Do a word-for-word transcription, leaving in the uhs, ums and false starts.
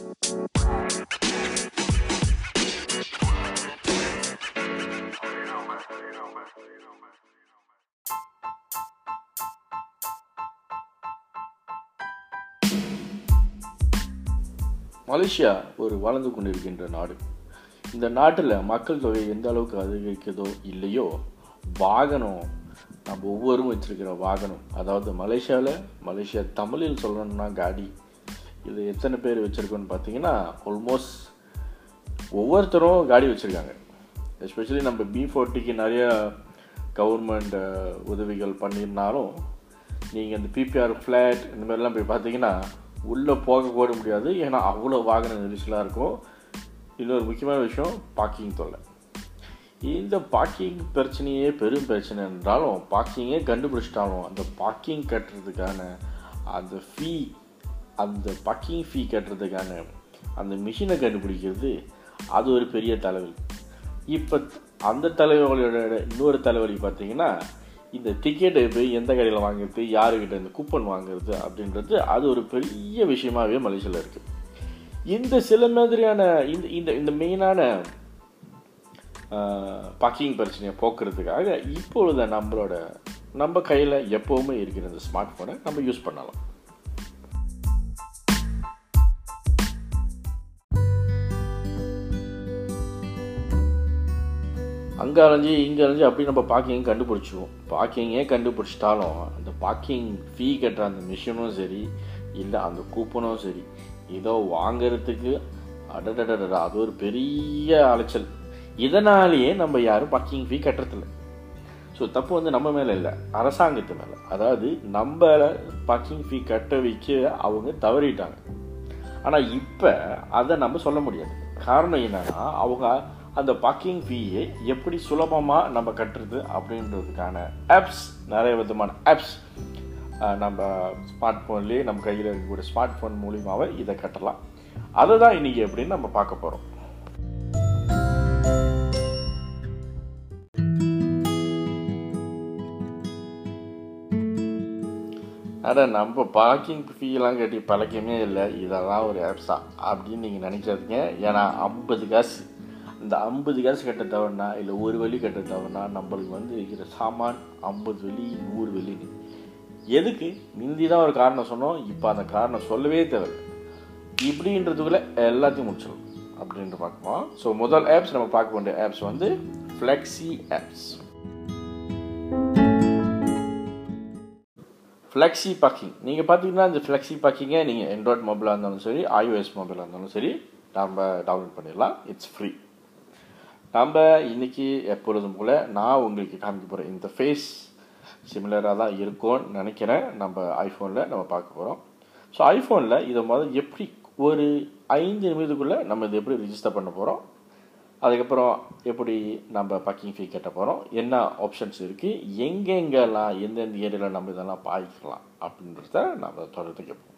Malaysia ஒரு வளர்ந்து கொண்டிருக்கின்ற நாடு. இந்த நாட்டில் மக்கள் தொகை எந்த அளவுக்கு அதிகரிக்கிறதோ இல்லையோ, வாகனம் நம்ம ஒவ்வொரும் வச்சுருக்கிற வாகனம், அதாவது மலேசியாவில் மலேசியா தமிழில் சொல்லணும்னா காடி, இது எத்தனை பேர் வச்சுருக்கோன்னு பார்த்தீங்கன்னா ஆல்மோஸ்ட் ஒவ்வொருத்தரும் காடி வச்சுருக்காங்க. எஸ்பெஷலி நம்ம பி ஃபோர்ட்டிக்கு நிறைய கவர்மெண்ட் உதவிகள் பண்ணியிருந்தாலும், நீங்கள் இந்த பிபிஆர் ஃப்ளாட் இந்த மாதிரிலாம் போய் பார்த்தீங்கன்னா உள்ளே போக கூட முடியாது. ஏன்னா அவ்வளோ வாகன நெரிசலாக இருக்கும். இன்னொரு முக்கியமான விஷயம், பார்க்கிங் தொல்லை. இந்த பார்க்கிங் பிரச்சனையே பெரும் பிரச்சனை என்றாலும், பார்க்கிங்கே கண்டுபிடிச்சிட்டாலும் அந்த பார்க்கிங் கட்டுறதுக்கான அந்த ஃபீ அந்த பார்க்கிங் ஃபீ கட்டுறதுக்கான அந்த மிஷினை கண்டுபிடிக்கிறது அது ஒரு பெரிய தலைவலி. இப்போ அந்த தலைவலியோட இன்னொரு தலைவலி பார்த்திங்கன்னா, இந்த டிக்கெட்டை போய் எந்த கடையில் வாங்குறது, யாருக்கிட்ட இந்த கூப்பன் வாங்குறது அப்படின்றது அது ஒரு பெரிய விஷயமாகவே மலேசியாவில் இருக்குது. இந்த சில மாதிரியான இந்த இந்த இந்த மெயினான பார்க்கிங் பிரச்சனையை போக்குறதுக்காக இப்பொழுது நம்மளோட நம்ம கையில் எப்போவுமே இருக்கிற இந்த ஸ்மார்ட் ஃபோனை நம்ம யூஸ் பண்ணலாம். அங்கே அலைஞ்சி இங்கே அலைஞ்சி அப்படி நம்ம பார்க்கிங் கண்டுபிடிச்சிடுவோம். பார்க்கிங்கே கண்டுபிடிச்சிட்டாலும் அந்த பார்க்கிங் ஃபீ கட்டுற அந்த மிஷினும் சரி, இல்லை அந்த கூப்பனும் சரி, ஏதோ வாங்கிறதுக்கு அடடடடா அது ஒரு பெரிய அலைச்சல். இதனாலேயே நம்ம யாரும் பார்க்கிங் ஃபீ கட்டுறதில்ல. ஸோ தப்பு வந்து நம்ம மேலே இல்லை, அரசாங்கத்து மேலே. அதாவது நம்ம பார்க்கிங் ஃபீ கட்ட வைக்க அவங்க தவறிட்டாங்க. ஆனால் இப்போ அதை நம்ம சொல்ல முடியாது. காரணம் என்னன்னா, அவங்க அந்த பார்க்கிங் ஃபீயை எப்படி சுலபமாக நம்ம கட்டுறது அப்படின்றதுக்கான ஆப்ஸ், நிறைய விதமான ஆப்ஸ் நம்ம ஸ்மார்ட் ஃபோன்லேயே நம்ம கையில் இருக்கக்கூடிய ஸ்மார்ட் ஃபோன் மூலியமாகவே இதை கட்டலாம். அதை தான் இன்றைக்கி எப்படின்னு நம்ம பார்க்க போகிறோம். அட நம்ம பார்க்கிங் ஃபீலாம் கட்டி பழக்கமே இல்லை, இதெல்லாம் ஒரு ஆப்ஸா அப்படின்னு நீங்கள் நினைக்காதீங்க. ஏன்னா ஐம்பது காசு இந்த ஐம்பது காசு கட்ட தவறுனா, இல்லை ஒரு வழி கட்ட தவறுனா, நம்மளுக்கு வந்து இருக்கிற சாமான் ஐம்பது வழி நூறு வழின்னு எதுக்கு முந்தி தான் ஒரு காரணம் சொன்னோம். இப்போ அந்த காரணம் சொல்லவே தேவை. இப்படின்றதுக்குள்ளே எல்லாத்தையும் முடிச்சிடும் அப்படின்ட்டு பார்ப்போம். ஸோ முதல் ஆப்ஸ் நம்ம பார்க்க வேண்டிய ஆப்ஸ் வந்து ஃப்ளெக்ஸி ஆப்ஸ். ஃப்ளெக்ஸி பார்க்கிங் நீங்கள் பார்த்தீங்கன்னா, இந்த ஃப்ளெக்ஸி பார்க்கிங்கை நீங்கள் ஆண்ட்ராய்ட் மொபைலாக இருந்தாலும் சரி, ஐஓஎஸ் மொபைலாக இருந்தாலும் சரி, நம்ம டவுன்லோட் பண்ணிடலாம். It's free. நம்ம இன்றைக்கி எப்பொழுதும் போல் நான் உங்களுக்கு காமிக்க போகிறேன் இந்த ஃபேஸ் சிமிலராக தான் இருக்கும்னு நினைக்கிறேன். நம்ம ஐஃபோனில் நம்ம பார்க்க போகிறோம். ஸோ ஐஃபோனில் இதை முதல் எப்படி ஒரு ஐந்து நிமிடத்துக்குள்ளே நம்ம இதை எப்படி ரிஜிஸ்டர் பண்ண போகிறோம், அதுக்கப்புறம் எப்படி நம்ம பார்க்கிங் ஃபீ கட்ட போகிறோம், என்ன ஆப்ஷன்ஸ் இருக்குது, எங்கெங்கெல்லாம் எந்தெந்த ஏரியாவில் நம்ம இதெல்லாம் பாய்க்கலாம் அப்படின்றத நம்ம தொடர்ந்து கேட்போம்.